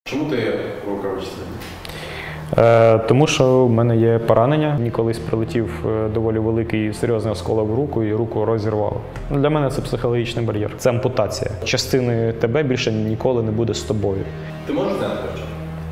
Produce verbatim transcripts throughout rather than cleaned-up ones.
Чому ти рукавичний? Е, тому що в мене є поранення. Мені колись прилетів доволі великий серйозний осколок в руку і руку розірвало. Для мене це психологічний бар'єр. Це ампутація. Частини тебе більше ніколи не буде з тобою. Ти можеш зняти перчатку?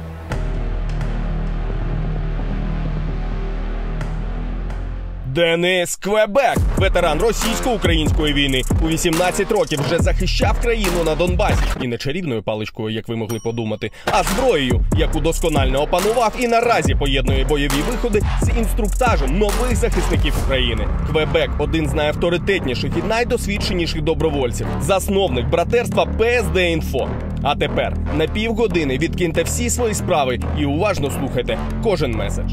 Денис Квебек, ветеран російсько-української війни, у вісімнадцять років вже захищав країну на Донбасі. І не чарівною паличкою, як ви могли подумати, а зброєю, яку досконально опанував і наразі поєднує бойові виходи з інструктажем нових захисників України. Квебек – один з найавторитетніших і найдосвідченіших добровольців, засновник братерства Пе Ес Де Інфо. А тепер на півгодини відкиньте всі свої справи і уважно слухайте кожен меседж.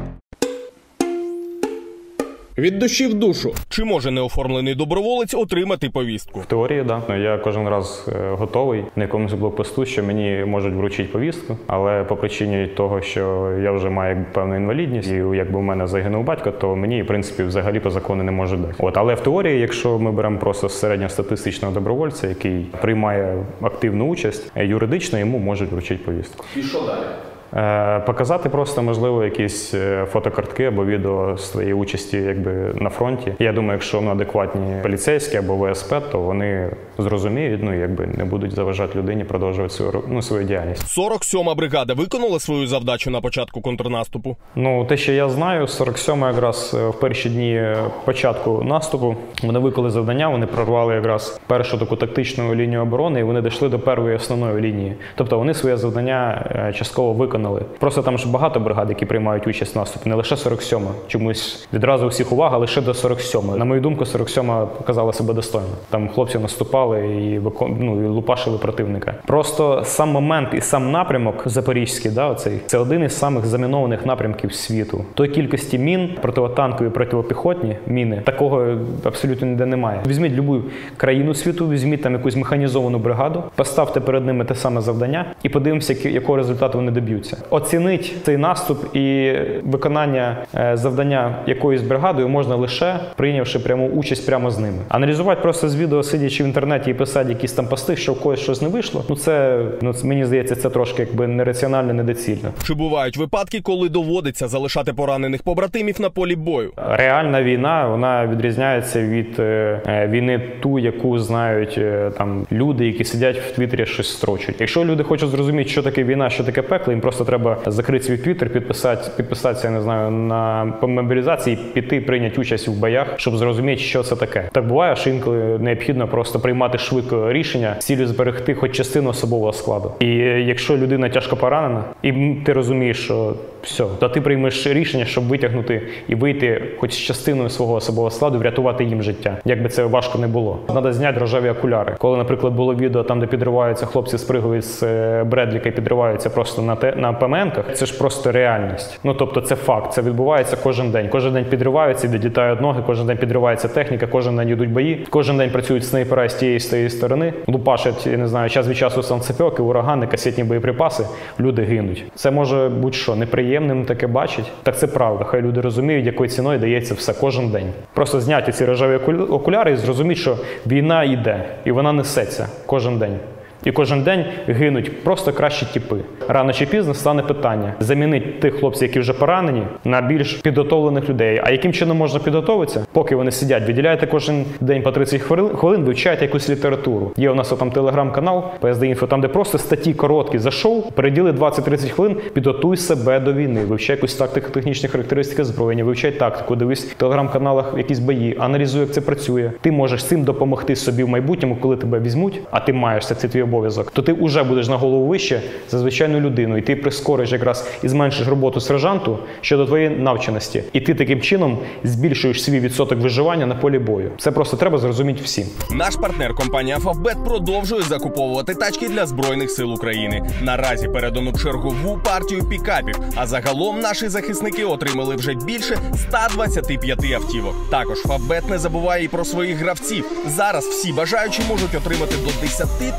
Від душі в душу. Чи може неоформлений доброволець отримати повістку? В теорії, так. Да. Я кожен раз готовий на якомусь блокпосту, що мені можуть вручити повістку, але по причині того, що я вже маю певну інвалідність, і якби у мене загинув батько, то мені, в принципі, взагалі по закону не можуть дати. От, але в теорії, якщо ми беремо просто середньостатистичного добровольця, який приймає активну участь, юридично йому можуть вручити повістку. І що далі? Показати просто, можливо, якісь фотокартки або відео з твоєї участі якби, на фронті. Я думаю, якщо вони адекватні поліцейські або В С П, то вони зрозуміють, ну, якби не будуть заважати людині продовжувати свою, ну, свою діяльність. сорок сьома бригада виконала свою завдачу на початку контрнаступу? Ну, те, що я знаю, сорок сьома якраз в перші дні початку наступу вони виконали завдання, вони прорвали якраз першу таку тактичну лінію оборони і вони дійшли до першої основної лінії. Тобто вони своє завдання частково виконали. Просто там ж багато бригад, які приймають участь в наступі, не лише сорок сьома. Чомусь відразу всіх увага лише до сорок сьомої. На мою думку, сорок сьома показала себе достойно. Там хлопці наступали і, викон... ну, і лупашили противника. Просто сам момент і сам напрямок запорізький, да, оцей, це один із самих замінованих напрямків світу. Той кількості мін, противотанкові, противопіхотні міни, такого абсолютно ніде немає. Візьміть будь-яку країну світу, візьміть там якусь механізовану бригаду, поставте перед ними те саме завдання і подивимося, якого результату вони доб'ються. Оцінить цей наступ і виконання е, завдання якоюсь бригадою можна лише прийнявши пряму участь прямо з ними. Аналізувати просто з відео, сидячи в інтернеті і писати якісь там пости, що в когось щось не вийшло, ну це, ну, мені здається, це трошки якби нераціонально, недоцільно. Чи бувають випадки, коли доводиться залишати поранених побратимів на полі бою? Реальна війна, вона відрізняється від е, війни ту, яку знають е, там люди, які сидять в Твіттері, щось строчать. Якщо люди хочуть зрозуміти, що таке війна, що таке пекло, їм просто треба закрити свій твіттер, підписати, підписатися, я не знаю, на мобілізації, піти, прийняти участь у боях, щоб зрозуміти, що це таке. Так буває, що інколи необхідно просто приймати швидко рішення з цілею зберегти хоч частину особового складу. І якщо людина тяжко поранена, і ти розумієш, що все, то ти приймеш рішення, щоб витягнути і вийти хоч з частиною свого особового складу, врятувати їм життя. Як би це важко не було. Треба зняти рожеві окуляри. Коли, наприклад, було відео там, де підриваються хлопці, спригують з Бредліка і підриваються просто на те, на ПМНках, це ж просто реальність. Ну, тобто це факт, це відбувається кожен день. Кожен день підриваються, відлітають ноги, кожен день підривається техніка, кожен день йдуть бої, кожен день працюють снайпера з тієї, з тієї сторони, лупашать, я не знаю, час від часу санцепьоки, урагани, касетні боєприпаси, люди гинуть. Це може будь-що неприємним таке бачить. Так це правда, хай люди розуміють, якою ціною дається все кожен день. Просто зняти ці рожеві окуляри і зрозуміти, що війна йде, і вона несеться кожен день. І кожен день гинуть просто кращі тіпи. Рано чи пізно стане питання замінити тих хлопців, які вже поранені, на більш підготовлених людей. А яким чином можна підготовитися? Поки вони сидять, виділяєте кожен день по тридцять хвилин, вивчаєте якусь літературу. Є у нас там телеграм-канал Пе Ес Де Інфо, там де просто статті короткі зайшов, переділи двадцять-тридцять хвилин, підготуй себе до війни, вивчай якусь тактику, технічні характеристики озброєння, вивчай тактику, дивись в телеграм-каналах якісь бої, аналізуй, як це працює. Ти можеш цим допомогти собі в майбутньому, коли тебе візьмуть, а ти маєш це, це твій обов'язок, то ти вже будеш на голову вище за звичайну людину, і ти прискориш якраз і зменшиш роботу сержанту щодо твоєї навченості. І ти таким чином збільшуєш свій відсоток виживання на полі бою. Це просто треба зрозуміти всім. Наш партнер компанія Фавбет продовжує закуповувати тачки для Збройних сил України. Наразі передано чергову партію пікапів, а загалом наші захисники отримали вже більше ста двадцяти п'яти автівок. Також Фавбет не забуває і про своїх гравців. Зараз всі бажаючі можуть отримати до десяти тисяч гривень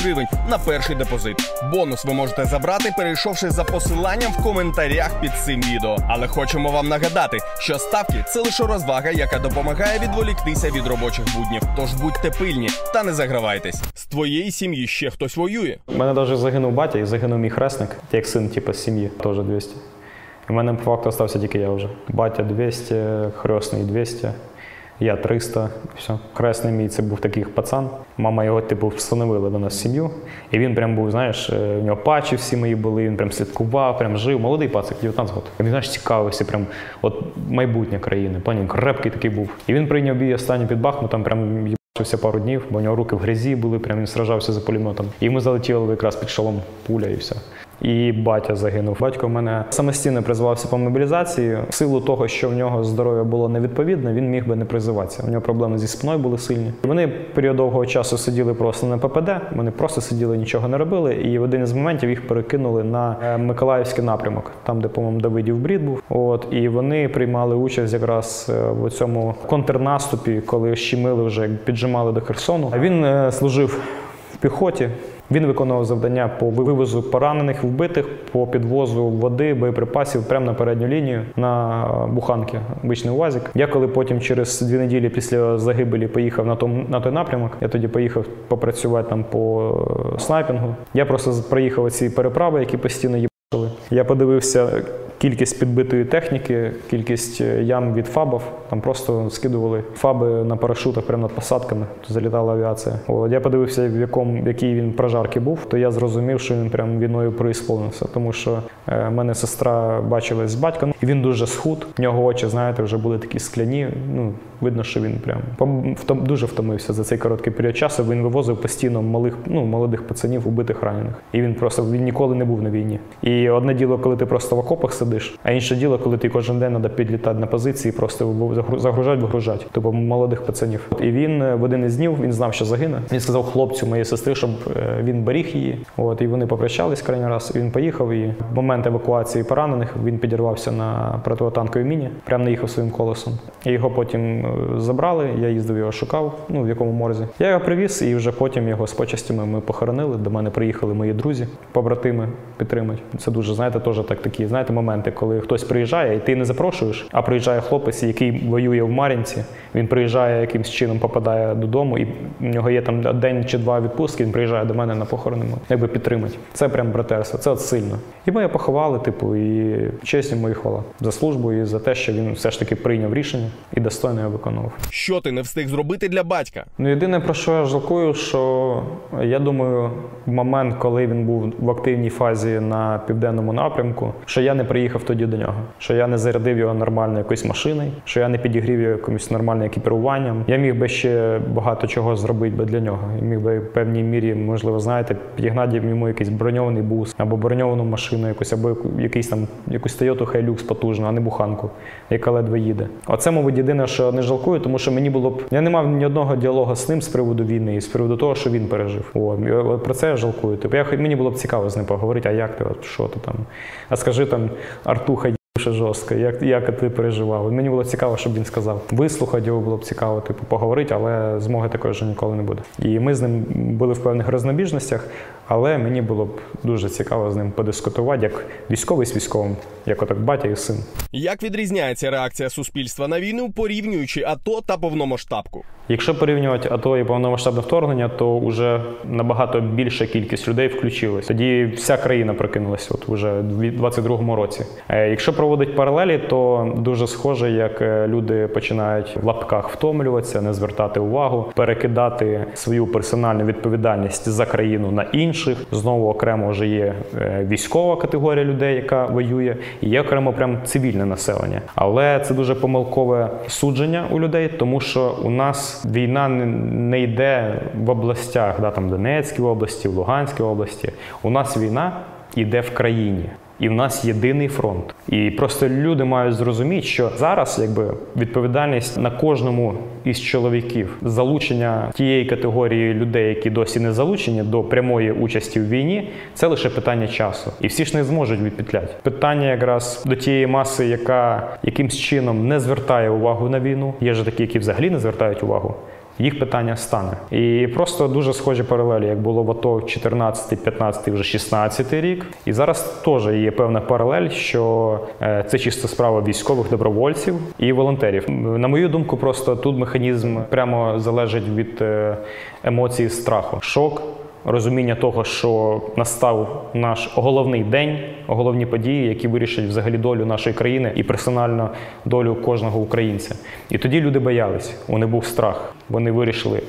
гривень на перший депозит. Бонус ви можете забрати, перейшовши за посиланням в коментарях під цим відео. Але хочемо вам нагадати, що ставки – це лише розвага, яка допомагає відволіктися від робочих буднів. Тож будьте пильні та не загравайтесь. З твоєї сім'ї ще хтось воює? У мене навіть загинув батя і загинув мій хресник, як син типу, з сім'ї, теж двісті. У мене по факту залишився тільки я вже. Батя двісті, хресний двісті, я триста, все. Хресний мій це був такий пацан. Мама його типу встановила до нас в сім'ю. І він прям був, знаєш, у нього патчі всі мої були, він прям слідкував, прям жив. Молодий пацик, дев'ятнадцять років. Він, знаєш, цікавився, прям от майбутнє країни. Плані, крепкий такий був. І він прийняв бій останній під Бахмутом, прям їбався пару днів, бо у нього руки в грязі були, прям він сражався за пулеметом. І ми залетіли якраз під шолом пуля і все. І батя загинув. Батько в мене самостійно призивався по мобілізації. В силу того, що в нього здоров'я було невідповідне, він міг би не призиватися. У нього проблеми зі спиною були сильні. Вони період довгого часу сиділи просто на Пе Пе Де, вони просто сиділи, нічого не робили. І в один із моментів їх перекинули на Миколаївський напрямок, там, де, по-моєму, Давидів брід був. От, і вони приймали участь якраз в цьому контрнаступі, коли щемили вже, піджимали до Херсону. Він служив в піхоті. Він виконував завдання по вивозу поранених, вбитих, по підвозу води, боєприпасів прямо на передню лінію, на буханки, обичний УАЗик. Я коли потім через дві неділі після загибелі поїхав на, том, на той напрямок, я тоді поїхав попрацювати там по снайпінгу. Я просто проїхав ці переправи, які постійно їбали. Я подивився кількість підбитої техніки, кількість ям від фабів. Там просто скидували фаби на парашутах прямо над посадками, залітала авіація. От, я подивився, в якому, в якій він прожарки був, то я зрозумів, що він прям війною преісполнився. Тому що е, мене сестра бачилась з батьком, і він дуже схуд. В нього очі, знаєте, вже були такі скляні. Ну, видно, що він прям втом, дуже втомився за цей короткий період часу. Він вивозив постійно малих, ну, молодих пацанів, убитих, ранених. І він просто він ніколи не був на війні. І одне діло, коли ти просто в окопах сидиш, а інше діло, коли ти кожен день треба підлітати на позиції, просто загружати, вигружати. Тобто молодих пацанів. І він в один із днів, він знав, що загине. Він сказав хлопцю моєї сестри, щоб він беріг її. От, і вони попрощались крайній раз. І він поїхав, і в момент евакуації поранених він підірвався на протитанковій міні, прямо наїхав своїм колесом. І його потім забрали, я їздив, його шукав, ну, в якому морзі. Я його привіз, і вже потім його з почестями ми похоронили. До мене приїхали мої друзі, побратими підтримати. Це дуже, знаєте, теж так такі, знаєте, моменти, коли хтось приїжджає, і ти не запрошуєш, а приїжджає хлопець, який воює в Мар'їнці, він приїжджає, якимсь чином попадає додому, і в нього є там день чи два відпустки, він приїжджає до мене на похорони, якби підтримати. Це прям братерство, це от сильно. І ми його поховали, типу, і честь йому і хвала за службу і за те, що він все ж таки прийняв рішення і достойно його виконував. Що ти не встиг зробити для батька? Ну, єдине, про що я жалкую, що я думаю, в момент, коли він був в активній фазі на південному напрямку, що я не приїхав тоді до нього, що я не зарядив його нормально якоюсь машиною, що я не підігрів його якимось нормальним екіпіруванням. Я міг би ще багато чого зробити би для нього. Я міг би в певній мірі, можливо, знаєте, підігнати йому якийсь броньований бус, або броньовану машину якусь, або якийсь там, якусь Toyota Hilux потужну, а не буханку, яка ледве їде. Оце, мабуть, єдине, що не жалкую, тому що мені було б... Я не мав ні одного діалогу з ним з приводу війни і з приводу того, що він пережив. О, про це я жалкую. Типу, я, мені було б цікаво з ним поговорити, а як ти, от, що ти там? А скажи там, Артуха, ще жорстко, як, як ти переживав. Мені було цікаво, щоб він сказав. Вислухати його було б цікаво, типу, поговорити, але змоги такої вже ніколи не буде. І ми з ним були в певних рознобіжностях, але мені було б дуже цікаво з ним подискутувати, як військовий з військовим, як отак батя і син. Як відрізняється реакція суспільства на війну, порівнюючи АТО та повномасштабку? Якщо порівнювати АТО і повномасштабне вторгнення, то вже набагато більша кількість людей включилась. Тоді вся країна прокинулася от уже в двадцять другому році. Якщо проводити паралелі, то дуже схоже, як люди починають в лапках втомлюватися, не звертати увагу, перекидати свою персональну відповідальність за країну на інших. Знову окремо вже є військова категорія людей, яка воює, і є окремо прям цивільне населення. Але це дуже помилкове судження у людей, тому що у нас війна не йде в областях, да, там Донецькій області, в Луганській області. У нас війна йде в країні. І в нас єдиний фронт. І просто люди мають зрозуміти, що зараз якби відповідальність на кожному із чоловіків, залучення тієї категорії людей, які досі не залучені до прямої участі в війні, це лише питання часу. І всі ж не зможуть відпетляти. Питання якраз до тієї маси, яка якимсь чином не звертає увагу на війну. Є ж такі, які взагалі не звертають увагу. їх питання стане. І просто дуже схожі паралелі, як було в АТО чотирнадцятий, п'ятнадцятий, вже шістнадцятий рік. І зараз теж є певна паралель, що це чисто справа військових, добровольців і волонтерів. На мою думку, просто тут механізм прямо залежить від емоції страху. Шок, розуміння того, що настав наш головний день, головні події, які вирішать взагалі долю нашої країни і персонально долю кожного українця. І тоді люди боялись, у них був страх. Вони вирішили,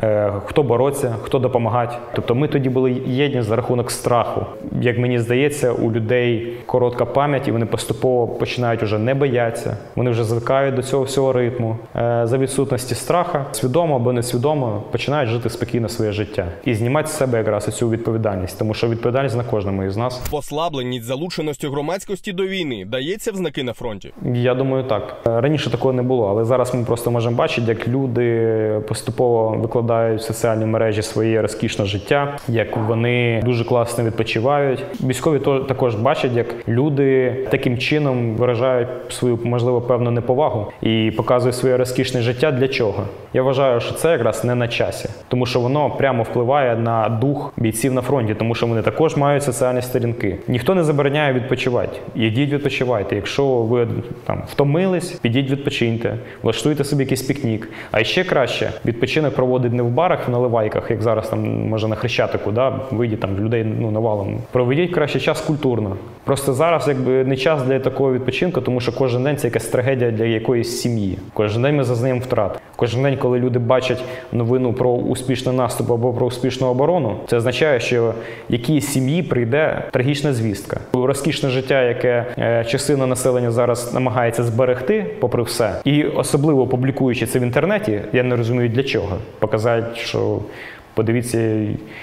хто бороться, хто допомагати. Тобто ми тоді були єдні за рахунок страху. Як мені здається, у людей коротка пам'ять, і вони поступово починають вже не боятися. Вони вже звикають до цього всього ритму. За відсутності страха, свідомо або несвідомо, починають жити спокійно своє життя. І знімати з себе якраз цю відповідальність, тому що відповідальність на кожному із нас. Послабленість залученості громадськості до війни дається в знаки на фронті? Я думаю, так. Раніше такого не було, але зараз ми просто можемо бачити, як люди поступово викладають в соціальні мережі своє розкішне життя, як вони дуже класно відпочивають. Військові також бачать, як люди таким чином виражають свою, можливо, певну неповагу і показують своє розкішне життя. Для чого? Я вважаю, що це якраз не на часі, тому що воно прямо впливає на дух бійців на фронті, тому що вони також мають соціальні сторінки. Ніхто не забороняє відпочивати. Ідіть відпочивайте. Якщо ви там втомились, підіть відпочиньте, влаштуйте собі якийсь пікнік. А ще краще відпочинок проводить не в барах, в наливайках, як зараз там може на Хрещатику, да, вийдіть там людей ну навалом. Проведіть краще час культурно. Просто зараз якби не час для такого відпочинку, тому що кожен день це якась трагедія для якоїсь сім'ї. Кожен день ми зазнаємо втрат. Кожен день, коли люди бачать новину про успішний наступ або про успішну оборону, це означає, що якійсь сім'ї прийде трагічна звістка. Розкішне життя, яке е, частина населення зараз намагається зберегти, попри все, і особливо публікуючи це в інтернеті, я не розумію для чого. Показати, що подивіться,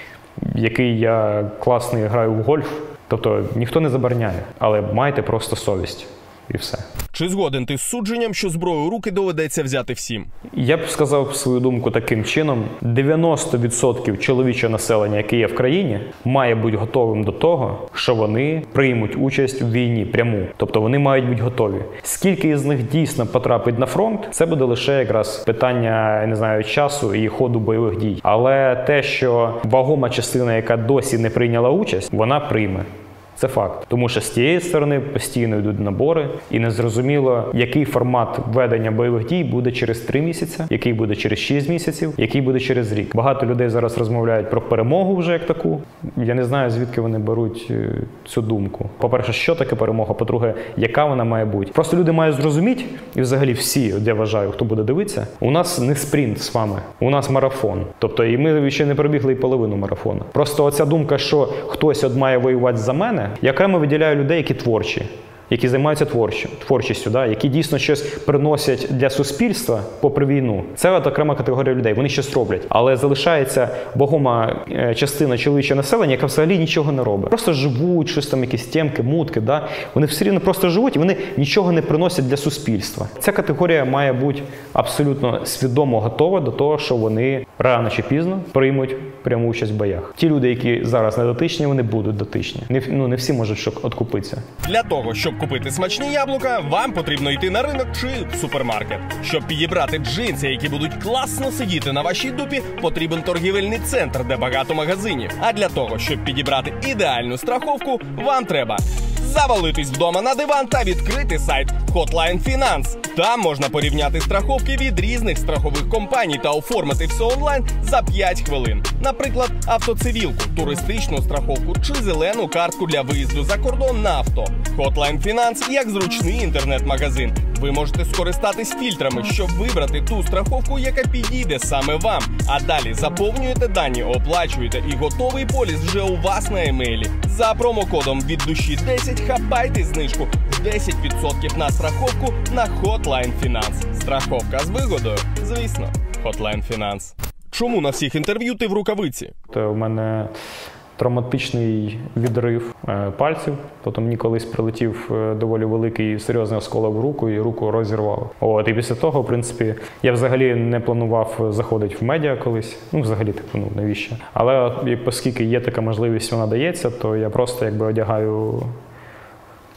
який я класний граю в гольф. Тобто ніхто не забороняє, але майте просто совість. І все. Чи згоден ти з судженням, що зброю у руки доведеться взяти всім? Я б сказав свою думку таким чином. дев'яносто відсотків чоловічого населення, яке є в країні, має бути готовим до того, що вони приймуть участь у війні пряму. Тобто вони мають бути готові. Скільки із них дійсно потрапить на фронт, це буде лише якраз питання, я не знаю, часу і ходу бойових дій. Але те, що вагома частина, яка досі не прийняла участь, вона прийме. Це факт. Тому що з тієї сторони постійно йдуть набори, і незрозуміло, який формат ведення бойових дій буде через три місяці, який буде через шість місяців, який буде через рік. Багато людей зараз розмовляють про перемогу вже як таку. Я не знаю, звідки вони беруть цю думку. По-перше, що таке перемога? По-друге, яка вона має бути? Просто люди мають зрозуміти, і взагалі всі, от я вважаю, хто буде дивитися, у нас не спринт з вами, у нас марафон. Тобто і ми ще не пробігли і половину марафону. Просто оця думка, що хтось от має воювати за мене, я окремо виділяю людей, які творчі, які займаються творчістю, творчістю, да, які дійсно щось приносять для суспільства попри війну. Це от окрема категорія людей, вони щось роблять. Але залишається вагома частина чоловічого населення, яка взагалі нічого не робить. Просто живуть, щось там, якісь темки, мутки, да. Вони все рівно просто живуть і вони нічого не приносять для суспільства. Ця категорія має бути абсолютно свідомо готова до того, що вони рано чи пізно приймуть пряму участь в боях. Ті люди, які зараз не дотичні, вони будуть дотичні. Не, ну, не всі можуть откупитися. Для того, щоб купити смачні яблука, вам потрібно йти на ринок чи в супермаркет. Щоб підібрати джинси, які будуть класно сидіти на вашій дупі, потрібен торгівельний центр, де багато магазинів. А для того, щоб підібрати ідеальну страховку, вам треба завалитись вдома на диван та відкрити сайт Hotline Finance. Там можна порівняти страховки від різних страхових компаній та оформити все онлайн за п'ять хвилин. Наприклад, автоцивілку, туристичну страховку чи зелену картку для виїзду за кордон на авто. Hotline Finance як зручний інтернет-магазин. Ви можете скористатись фільтрами, щоб вибрати ту страховку, яка підійде саме вам. А далі заповнюєте дані, оплачуєте і готовий поліс вже у вас на емейлі. За промокодом від душі десять хапайте знижку десять відсотків на страховку на Hotline Finance. Страховка з вигодою, звісно, Hotline Finance. Чому на всіх інтерв'ю ти в рукавиці? То у мене травматичний відрив е, пальців, тобто мені колись прилетів е, доволі великий серйозний осколок в руку і руку розірвало. От, і після того, в принципі, я взагалі не планував заходити в медіа колись, ну взагалі, типу, ну навіщо. Але оскільки є така можливість, вона дається, то я просто якби одягаю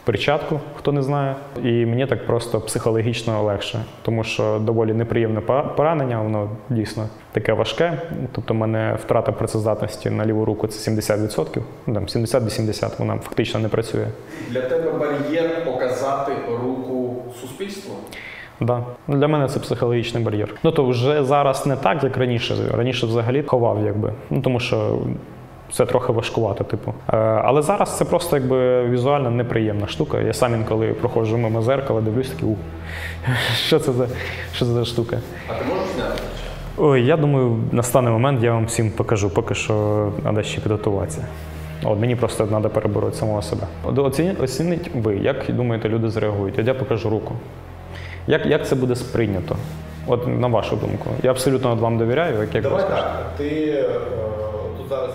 перчатку, хто не знає. І мені так просто психологічно легше, тому що доволі неприємне поранення, воно дійсно таке важке. Тобто в мене втрата працездатності на ліву руку – це сімдесят відсотків, там сімдесят-вісімдесят, вона фактично не працює. Для тебе бар'єр показати руку суспільству? Да. Для мене це психологічний бар'єр. Ну то вже зараз не так, як раніше. Раніше взагалі ховав, якби. Ну тому що це трохи важкувато, типу. Е, але зараз це просто якби візуально неприємна штука. Я сам інколи проходжу мимо зеркала, дивлюсь такий, у, що це за, що це за штука? А ти можеш зняти? Ой, я думаю, настане момент, я вам всім покажу, поки що треба ще підготуватися. От, мені просто треба перебороти самого себе. Оцініть, оцініть ви, як думаєте, люди зреагують? От я покажу руку. Як, як це буде сприйнято? От на вашу думку. Я абсолютно вам довіряю, як, як Давай ви скажете. так, ти е, тут зараз...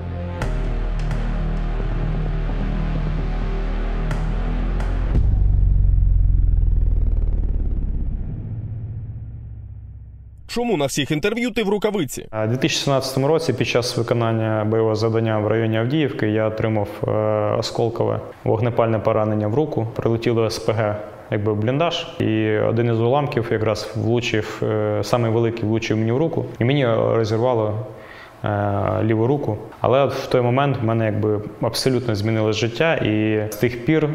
Чому на всіх інтерв'ю ти в рукавиці? У дві тисячі сімнадцятому році під час виконання бойового завдання в районі Авдіївки я отримав е, осколкове вогнепальне поранення в руку. Прилетіло СПГ якби в бліндаж, і один із уламків якраз влучив, е, самий великий влучив мені в руку, і мені розірвало е, ліву руку. Але от в той момент в мене якби абсолютно змінилось життя, і з тих пір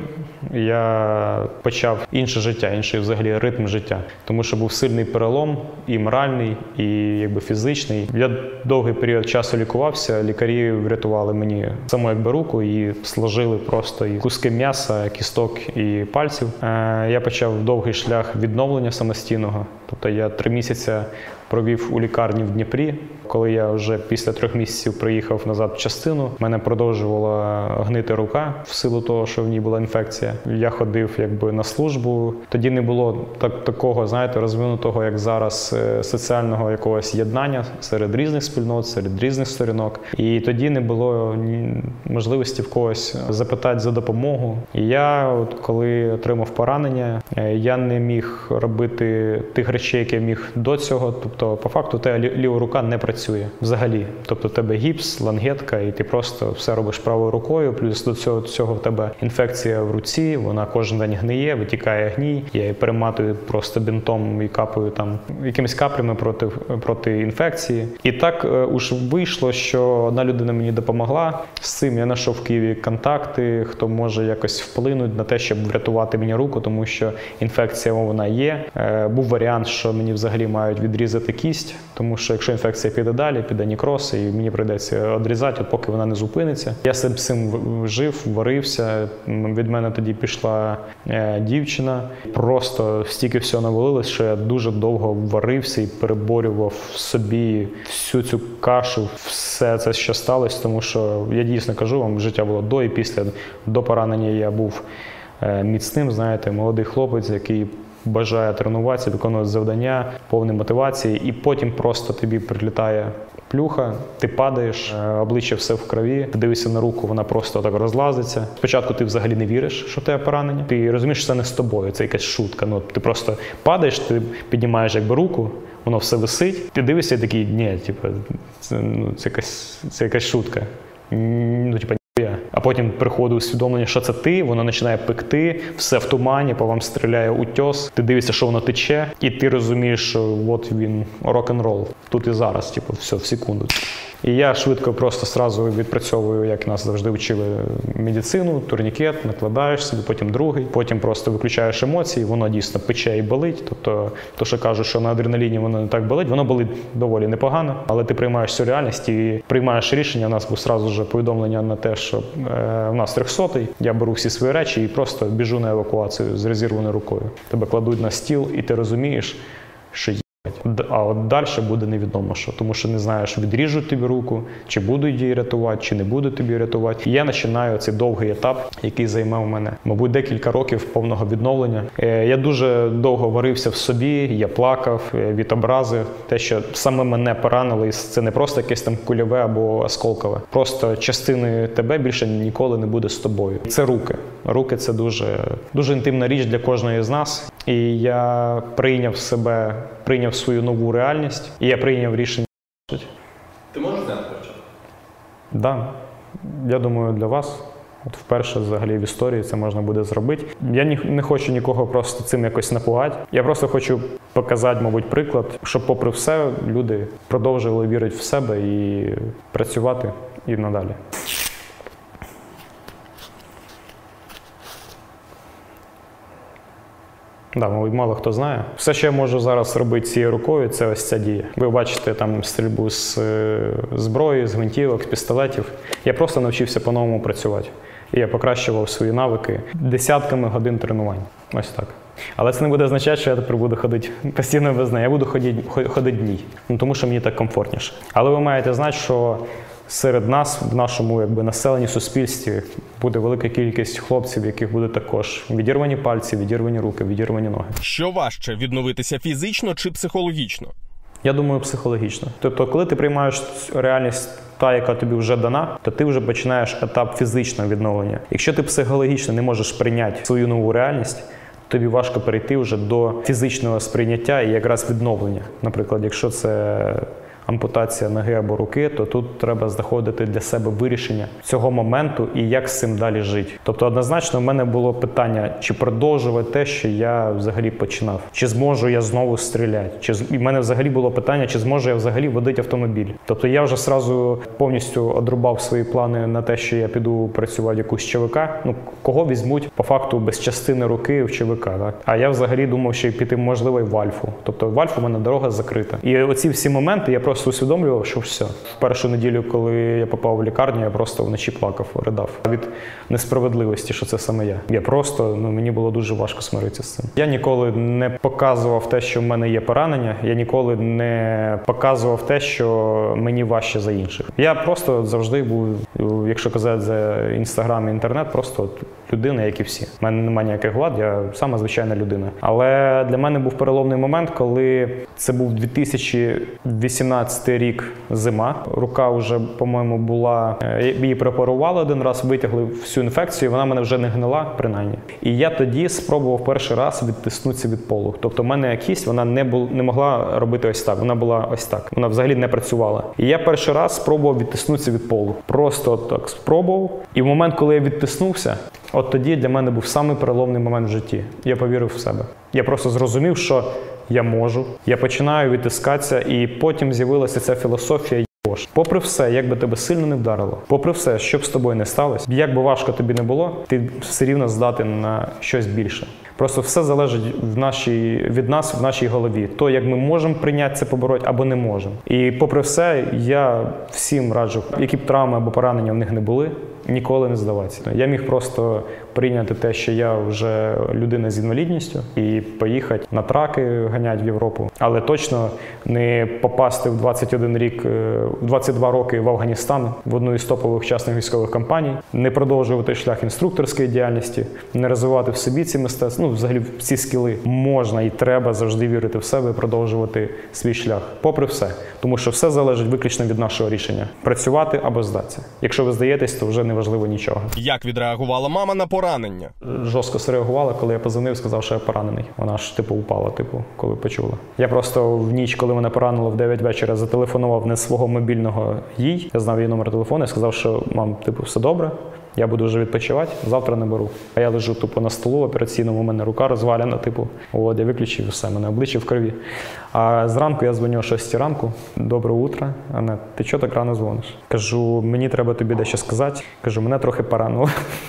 я почав інше життя, інший взагалі ритм життя. Тому що був сильний перелом, і моральний, і якби фізичний. Я довгий період часу лікувався, лікарі врятували мені саму якби руку і сложили просто і куски м'яса, кісток і пальців. Е, я почав довгий шлях відновлення самостійного. Тобто я три місяці провів у лікарні в Дніпрі. Коли я вже після трьох місяців приїхав назад в частину, в мене продовжувала гнити рука в силу того, що в ній була інфекція. Я ходив якби на службу. Тоді не було так, такого, знаєте, розвинутого, як зараз, соціального якогось єднання серед різних спільнот, серед різних сторінок. І тоді не було можливості в когось запитати за допомогу. І я, от, коли отримав поранення, я не міг робити тих речей, які я міг до цього. Тобто, по факту, та ліва рука не працює взагалі. Тобто, у тебе гіпс, лангетка, і ти просто все робиш правою рукою. Плюс до цього, цього в тебе інфекція в руці, вона кожен день гниє, витікає гній. Я її перематую просто бінтом і капаю там якимись каплями проти, проти інфекції. І так е, уж вийшло, що одна людина мені допомогла. З цим я знайшов в Києві контакти, хто може якось вплинути на те, щоб врятувати мені руку, тому що інфекція вона є. Е, був варіант, що мені взагалі мають відрізати кість, тому що якщо інфекція піде далі, піде нікроз, і мені прийдеться відрізати, от поки вона не зупиниться. Я з цим жив, варився. Від мене тоді пішла е, дівчина. Просто стільки всього навалилось, що я дуже довго варився і переборював в собі всю цю кашу, все це, що сталося, тому що я дійсно кажу вам, життя було до і після. До поранення я був е, міцним, знаєте, молодий хлопець, який бажає тренуватися, виконувати завдання, повний мотивації, і потім просто тобі прилітає плюха, ти падаєш, обличчя все в крові, ти дивишся на руку, вона просто так розлазиться. Спочатку ти взагалі не віриш, що в тебе поранення. Ти розумієш, що це не з тобою, це якась шутка. Ну, ти просто падаєш, ти піднімаєш якби руку, воно все висить, ти дивишся і такий, ні, типу, це, ну, це, якась, це якась шутка. Ну, типу, а потім приходить усвідомлення, що це ти, воно починає пекти, все в тумані, по вам стріляє утьос, ти дивишся, що воно тече, і ти розумієш, що от він рок-н-рол, тут і зараз, типу, все, в секунду. І я швидко просто сразу відпрацьовую, як нас завжди вчили, медицину, турнікет, накладаєш собі, потім другий, потім просто виключаєш емоції, воно дійсно пече і болить. Тобто, то, що кажуть, що на адреналіні воно не так болить, воно болить доволі непогано, але ти приймаєш цю реальність і приймаєш рішення. У нас був сразу же повідомлення на те, що е, в нас трьохсотий, я беру всі свої речі і просто біжу на евакуацію з розірваною рукою. Тебе кладуть на стіл, і ти розумієш, що а от далі буде невідомо що, тому що не знаєш, відріжуть тобі руку, чи будуть її рятувати, чи не будуть тобі рятувати. І я починаю цей довгий етап, який займав мене, мабуть, декілька років повного відновлення. Я дуже довго варився в собі, я плакав від образи, те, що саме мене поранили, це не просто якесь там кульове або осколкове. Просто частини тебе більше ніколи не буде з тобою. Це руки. Руки – це дуже, дуже інтимна річ для кожної з нас. І я прийняв себе, прийняв свою нову реальність, і я прийняв рішення. Ти можеш зняти перчатку? Так. Да. Я думаю, для вас От вперше взагалі в історії це можна буде зробити. Я ні, не хочу нікого просто цим якось напугати. Я просто хочу показати, мабуть, приклад, щоб попри все люди продовжували вірити в себе і працювати і надалі. Да, мабуть, мало хто знає. Все, що я можу зараз робити цією рукою, це ось ця дія. Ви бачите там стрільбу з зброї, з гвинтівок, з пістолетів. Я просто навчився по-новому працювати. І я покращував свої навики десятками годин тренувань. Ось так. Але це не буде означати, що я тепер буду ходити постійно без неї. Я буду ходити, ходити дні, ну, тому що мені так комфортніше. Але ви маєте знати, що серед нас, в нашому якби, населенні, суспільстві, буде велика кількість хлопців, в яких будуть також відірвані пальці, відірвані руки, відірвані ноги. Що важче – відновитися фізично чи психологічно? Я думаю, психологічно. Тобто, коли ти приймаєш реальність та, яка тобі вже дана, то ти вже починаєш етап фізичного відновлення. Якщо ти психологічно не можеш прийняти свою нову реальність, тобі важко перейти вже до фізичного сприйняття і якраз відновлення. Наприклад, якщо це ампутація ноги або руки, то тут треба знаходити для себе вирішення цього моменту і як з цим далі жити. Тобто однозначно в мене було питання, чи продовжувати те, що я взагалі починав. Чи зможу я знову стріляти? Чи в мене взагалі було питання, чи зможу я взагалі водити автомобіль. Тобто я вже сразу повністю одрубав свої плани на те, що я піду працювати в якусь ЧВК. Ну, кого візьмуть по факту без частини руки в ЧВК, так? А я взагалі думав, що піти можливо і в Альфу. Тобто в Альфу в мене дорога закрита. І оці всі моменти я просто Просто усвідомлював, що все. В першу неділю, коли я попав в лікарню, я просто вночі плакав, ридав від несправедливості, що це саме я. Я просто, ну, мені було дуже важко смиритися з цим. Я ніколи не показував те, що в мене є поранення, я ніколи не показував те, що мені важче за інших. Я просто завжди був, якщо казати за Інстаграм і інтернет, просто людина, як і всі. У мене немає ніяких вад, я сама звичайна людина. Але для мене був переломний момент, коли це був дві тисячі вісімнадцятий рік, зима. Рука вже, по-моєму, була, її препарували один раз, витягли всю інфекцію, вона мене вже не гнила, принаймні. І я тоді спробував перший раз відтиснутися від полу. Тобто в мене кість, вона не, бу, не могла робити ось так, вона була ось так. Вона взагалі не працювала. І я перший раз спробував відтиснутися від полу. Просто так спробував. І в момент, коли я відтиснувся, от тоді для мене був самий переломний момент в житті. Я повірив в себе. Я просто зрозумів, що я можу. Я починаю відтискатися, і потім з'явилася ця філософія «Йош». Попри все, як би тебе сильно не вдарило, попри все, що б з тобою не сталося, як би важко тобі не було, ти все рівно здатен на щось більше. Просто все залежить в нашій, від нас в нашій голові. То, як ми можемо прийняти це, побороти, або не можемо. І попри все, я всім раджу, які б травми або поранення в них не були, ніколи не здаватися. Я міг просто прийняти те, що я вже людина з інвалідністю, і поїхати на траки ганяти в Європу. Але точно не попасти в двадцять один рік, двадцять два роки в Афганістан, в одну із топових частних військових компаній, не продовжувати шлях інструкторської діяльності, не розвивати в собі ці мистецтва, ну, взагалі ці скіли. Можна і треба завжди вірити в себе і продовжувати свій шлях. Попри все. Тому що все залежить виключно від нашого рішення. Працювати або здатися. Якщо ви здаєтесь, то вже не важливо нічого. Як відреагувала мама на поранення? Жорстко среагувала, коли я позвонив, сказав, що я поранений. Вона ж типу упала, типу, коли почула. Я просто в ніч, коли мене поранило в дев'ять вечора, зателефонував не свого мобільного їй. Я знав її номер телефону і сказав, що мам, типу, все добре. Я буду вже відпочивати, завтра не беру. А я лежу тупо на столу операційному, у мене рука розвалена, типу, от, я виключив все, мене обличчя в крові. А зранку я дзвоню о шостій ранку, доброе утро, Анна, ти чого так рано дзвониш? Кажу, мені треба тобі дещо сказати. Кажу, мене трохи поранило.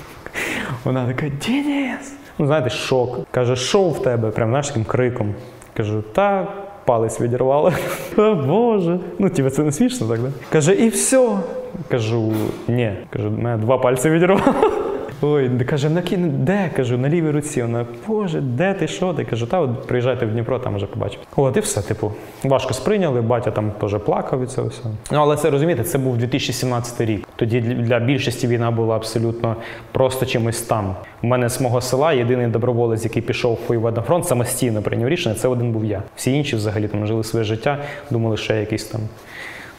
Вона така, Денис! Ну, знаєте, шок. Каже, що в тебе? Прям, знаєш, таким криком. Кажу, та палець відірвало. О, Боже. Ну, тебе це не смішно так, да? Каже, і все. Кажу, ні. Кажу, мене два пальці відірвало. Ой, каже, на кі... де? Кажу, на лівій руці. Вона, Боже, де ти, що ти? Кажу, та от приїжджайте в Дніпро, там вже побачите. От і все, типу, важко сприйняли, батя там теж плакав від цього всього. Ну, але це, розумієте, це був дві тисячі сімнадцятий рік. Тоді для більшості війна була абсолютно просто чимось там. У мене з мого села єдиний доброволець, який пішов воювати на фронт, самостійно прийняв рішення, це один був я. Всі інші взагалі там жили своє життя, думали, що я якийсь там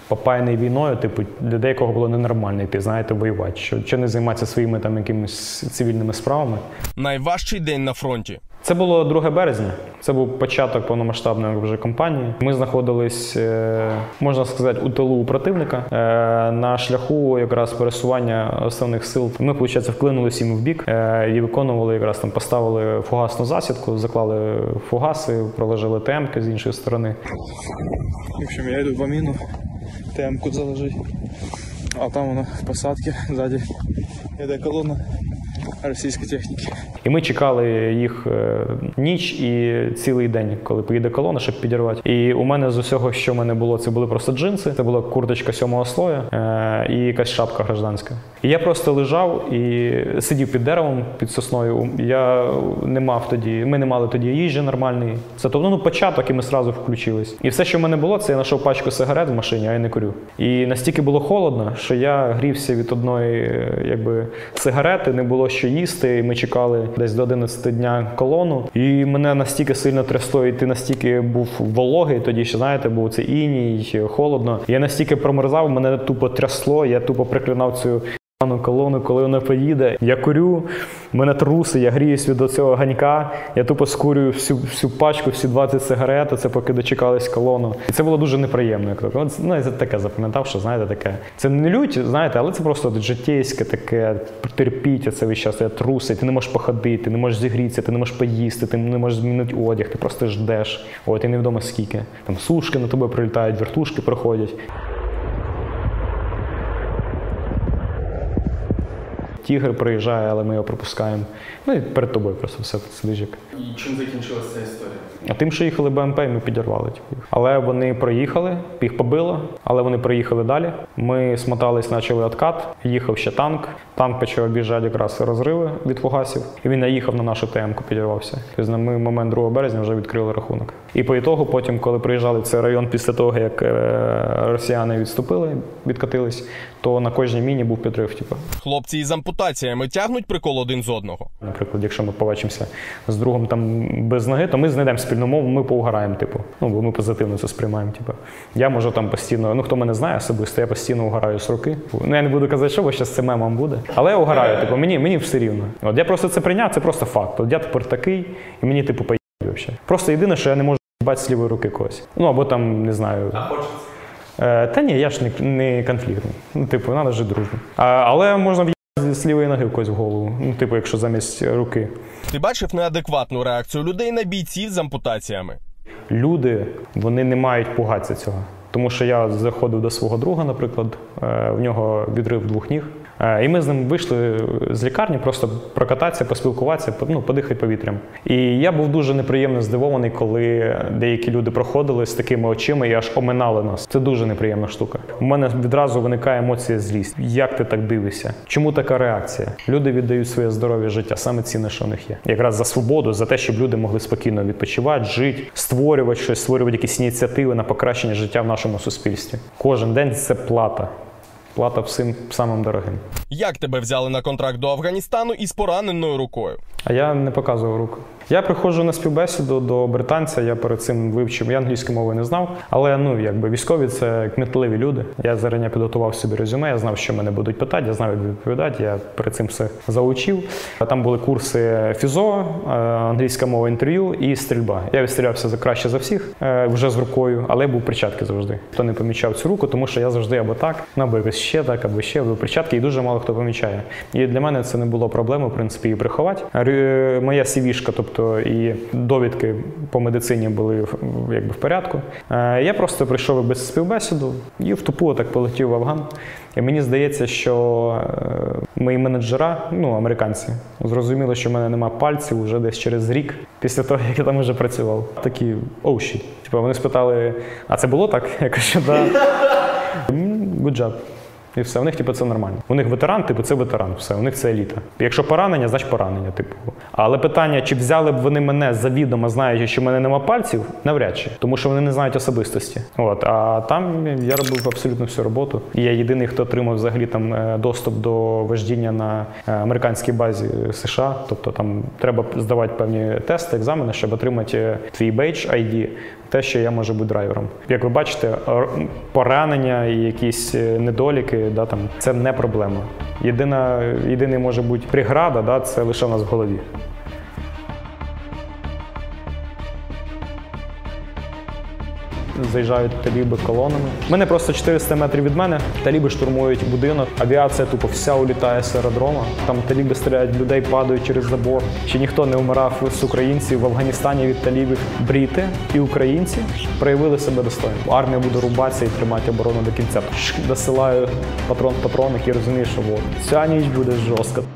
попаяний війною, типу, для деякого було ненормально йти, знаєте, воювати. Що, що не займатися своїми там якимись цивільними справами. Найважчий день на фронті. Це було друге березня. Це був початок повномасштабної вже кампанії. Ми знаходились, можна сказати, у тилу у противника на шляху якраз пересування основних сил. Ми, виходить, вклинулися їм в бік і виконували, якраз там поставили фугасну засідку, заклали фугаси, проложили ТМ-ки з іншої сторони. В общем, я йду по міну, ТМ-ку заложить, а там вона в посадці, ззаді йде колона російської техніки. І ми чекали їх ніч і цілий день, коли поїде колона, щоб підірвати. І у мене з усього, що в мене було, це були просто джинси, це була курточка сьомого слоя і якась шапка гражданська. І я просто лежав і сидів під деревом, під сосною. Я не мав тоді, ми не мали тоді їжі нормальної. Це тобто, ну, початок, і ми одразу включились. І все, що в мене було, це я знайшов пачку сигарет в машині, а я не курю. І настільки було холодно, що я грівся від одної, якби, сигарети, не було що їсти, і ми чекали десь до одинадцяти дня колону. І мене настільки сильно трясло, і ти настільки був вологий, тоді ще, знаєте, був це іній, холодно. Я настільки промерзав, мене тупо трясло, я тупо приклинав цю колону, коли вона поїде. Я курю, мене труси, я гріюсь від цього ганька, я тупо скурюю всю, всю пачку, всі двадцять сигарет, це поки дочекались колону. І це було дуже неприємно. Ну, я таке запам'ятав, що, знаєте, таке. Це не лють, знаєте, але це просто життєйське таке, терпіть це весь час, я труси, ти не можеш походити, ти не можеш зігрітися, ти не можеш поїсти, ти не можеш змінити одяг, ти просто ждеш. От, і невідомо скільки. Там сушки на тебе прилітають, вертушки проходять. Тігр приїжджає, але ми його пропускаємо. Ну і перед тобою просто все сидиш. І чим закінчилася ця історія? А тим, що їхали БМП, і ми підірвали. Але вони проїхали, їх побило, але вони проїхали далі. Ми смотались, почали відкат, їхав ще танк. Танк почав об'їжджати якраз розриви від фугасів. І він наїхав на нашу ТМ-ку, підірвався. Тобто ми в момент другого березня вже відкрили рахунок. І по ітогу, потім, коли приїжджали в цей район після того, як росіяни відступили, відкатились, то на кожній міні був підрив. Типу. Хлопці із ампутаціями тягнуть прикол один з одного. Наприклад, якщо ми побачимося з другом там без ноги, то ми знайдемо спільну мову, ми поугараємо, типу. Ну, бо ми позитивно це сприймаємо, типу. Я можу там постійно, ну, хто мене знає особисто, я постійно угораю з руки. Ну, я не буду казати, що, бо зараз це мемом буде. Але я угораю, типу, мені, мені все рівно. От я просто це прийняв, це просто факт. От я тепер такий, і мені, типу, поїбать взагалі. Просто єдине, що я не можу їбати з лівої руки когось. Ну, або там, не знаю. А хочеться? Е, та ні, я ж не, не конфліктний. Ну, типу, треба жити дружно. А, але можна в'їбати з лівої ноги в когось в голову. Ну, типу, якщо замість руки. Ти бачив неадекватну реакцію людей на бійців з ампутаціями? Люди, вони не мають пугатися цього. Тому що я заходив до свого друга, наприклад, в нього відрив двох ніг. І ми з ним вийшли з лікарні просто прокататися, поспілкуватися, ну, подихати повітрям. І я був дуже неприємно здивований, коли деякі люди проходили з такими очима і аж оминали нас. Це дуже неприємна штука. У мене відразу виникає емоція злість. Як ти так дивишся? Чому така реакція? Люди віддають своє здоров'я, життя, саме цінне, що в них є. Якраз за свободу, за те, щоб люди могли спокійно відпочивати, жити, створювати щось, створювати якісь ініціативи на покращення життя в нашому суспільстві. Кожен день це плата. Плата всім самим дорогим. Як тебе взяли на контракт до Афганістану із пораненою рукою? А я не показував руку. Я приходжу на співбесіду до британця, я перед цим вивчив, я англійської мови не знав, але, ну, якби військові – це кмітливі люди. Я зарані підготував собі резюме, я знав, що мене будуть питати, я знав, як відповідати, я перед цим все заучив. Там були курси фізо, англійська мова, інтерв'ю і стрільба. Я відстрілявся за краще за всіх, вже з рукою, але я був перчатки завжди. Хто не помічав цю руку, тому що я завжди або так, або якось ще так, або ще, або перчатки, і дуже мало хто помічає. І для мене це не було проблеми, в принципі, її приховати. Моя сі-вішка, тобто і довідки по медицині були якби в порядку. Я просто прийшов без співбесіду і в тупу так полетів в Афган. І мені здається, що мої менеджера, ну, американці, зрозуміли, що в мене нема пальців вже десь через рік після того, як я там вже працював. Такі, оу, oh, shit. Типу, вони спитали, а це було так? Я кажу, да. Good job. І все, у них типу, це нормально. У них ветеран, типу, це ветеран, все, у них це еліта. Якщо поранення, значить поранення, типу. Але питання, чи взяли б вони мене завідомо, знаючи, що в мене нема пальців, навряд чи. Тому що вони не знають особистості. От, а там я робив абсолютно всю роботу. І я єдиний, хто отримав взагалі там доступ до вождіння на американській базі США. Тобто там треба здавати певні тести, екзамени, щоб отримати твій бейдж ай ді, те, що я можу бути драйвером. Як ви бачите, поранення і якісь недоліки, да, там, це не проблема. Єдина, єдиний може бути преграда, да, це лише в нас в голові. Заїжджають таліби колонами. У мене просто чотириста метрів від мене. Таліби штурмують будинок. Авіація тупо вся улітає з аеродрома. Там таліби стріляють, людей падають через забор. Ще ніхто не вмирав з українців в Афганістані від талібів. Брити і українці проявили себе достойно. Армія буде рубатися і тримати оборону до кінця. Досилаю патрон в патронник і розумію, що от, ця ніч буде жорстка.